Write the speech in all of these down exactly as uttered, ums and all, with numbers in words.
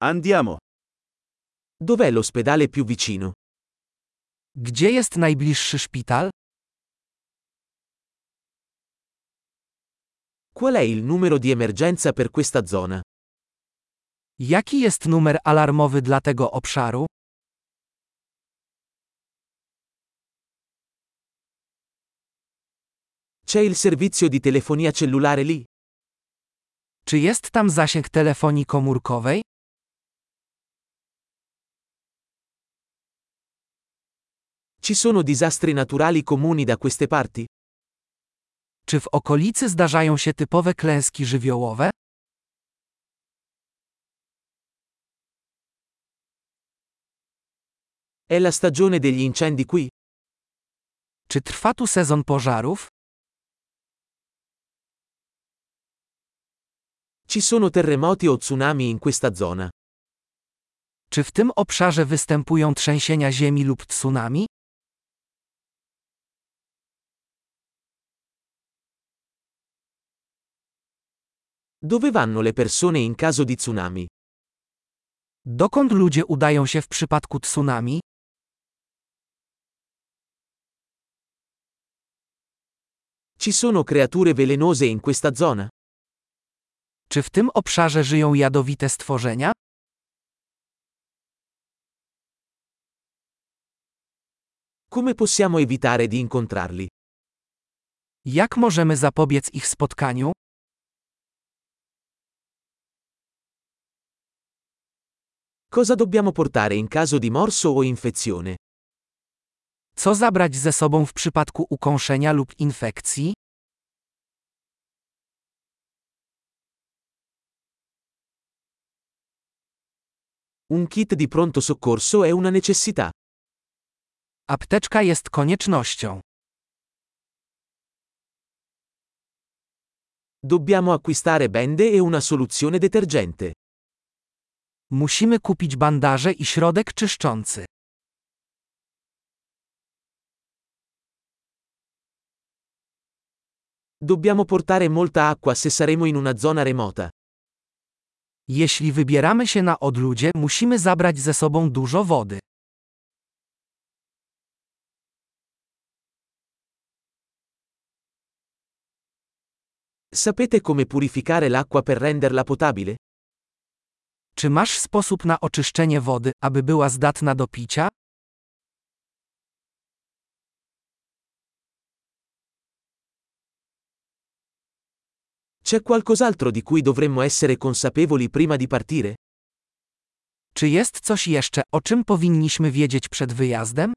Andiamo. Dov'è l'ospedale più vicino? Gdzie jest najbliższy szpital? Qual è il numero di emergenza per questa zona? Jaki jest numer alarmowy dla tego obszaru? C'è il servizio di telefonia cellulare lì? Czy jest tam zasięg telefonii komórkowej? Ci sono disastri naturali comuni da queste parti? Czy w okolicy zdarzają się typowe klęski żywiołowe? È la stagione degli incendi qui? Czy trwa tu sezon pożarów? Ci sono terremoti o tsunami in questa zona? Czy w tym obszarze występują trzęsienia ziemi lub tsunami? Dove vanno le persone in caso di tsunami? Dokąd ludzie udają się w przypadku tsunami? Ci sono creature velenose in questa zona? Czy w tym obszarze żyją jadowite stworzenia? Come possiamo evitare di incontrarli? Jak możemy zapobiec ich spotkaniu? Cosa dobbiamo portare in caso di morso o infezione? Co zabrać ze sobą w przypadku ukąszenia lub infekcji? Un kit di pronto soccorso è una necessità. Apteczka jest koniecznością. Dobbiamo acquistare bende e una soluzione detergente. Musimy kupić bandaże i środek czyszczący. Dobbiamo portare molta acqua se saremo in una zona remota. Jeśli wybieramy się na odludzie, musimy zabrać ze sobą dużo wody. Sapete come purificare l'acqua per renderla potabile? Czy masz sposób na oczyszczenie wody, aby była zdatna do picia? C'è qualcos'altro di cui dovremmo essere consapevoli prima di partire? Czy jest coś jeszcze, o czym powinniśmy wiedzieć przed wyjazdem?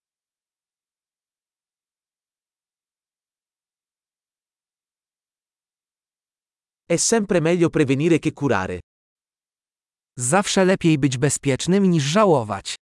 È sempre meglio prevenire che curare. Zawsze lepiej być bezpiecznym niż żałować.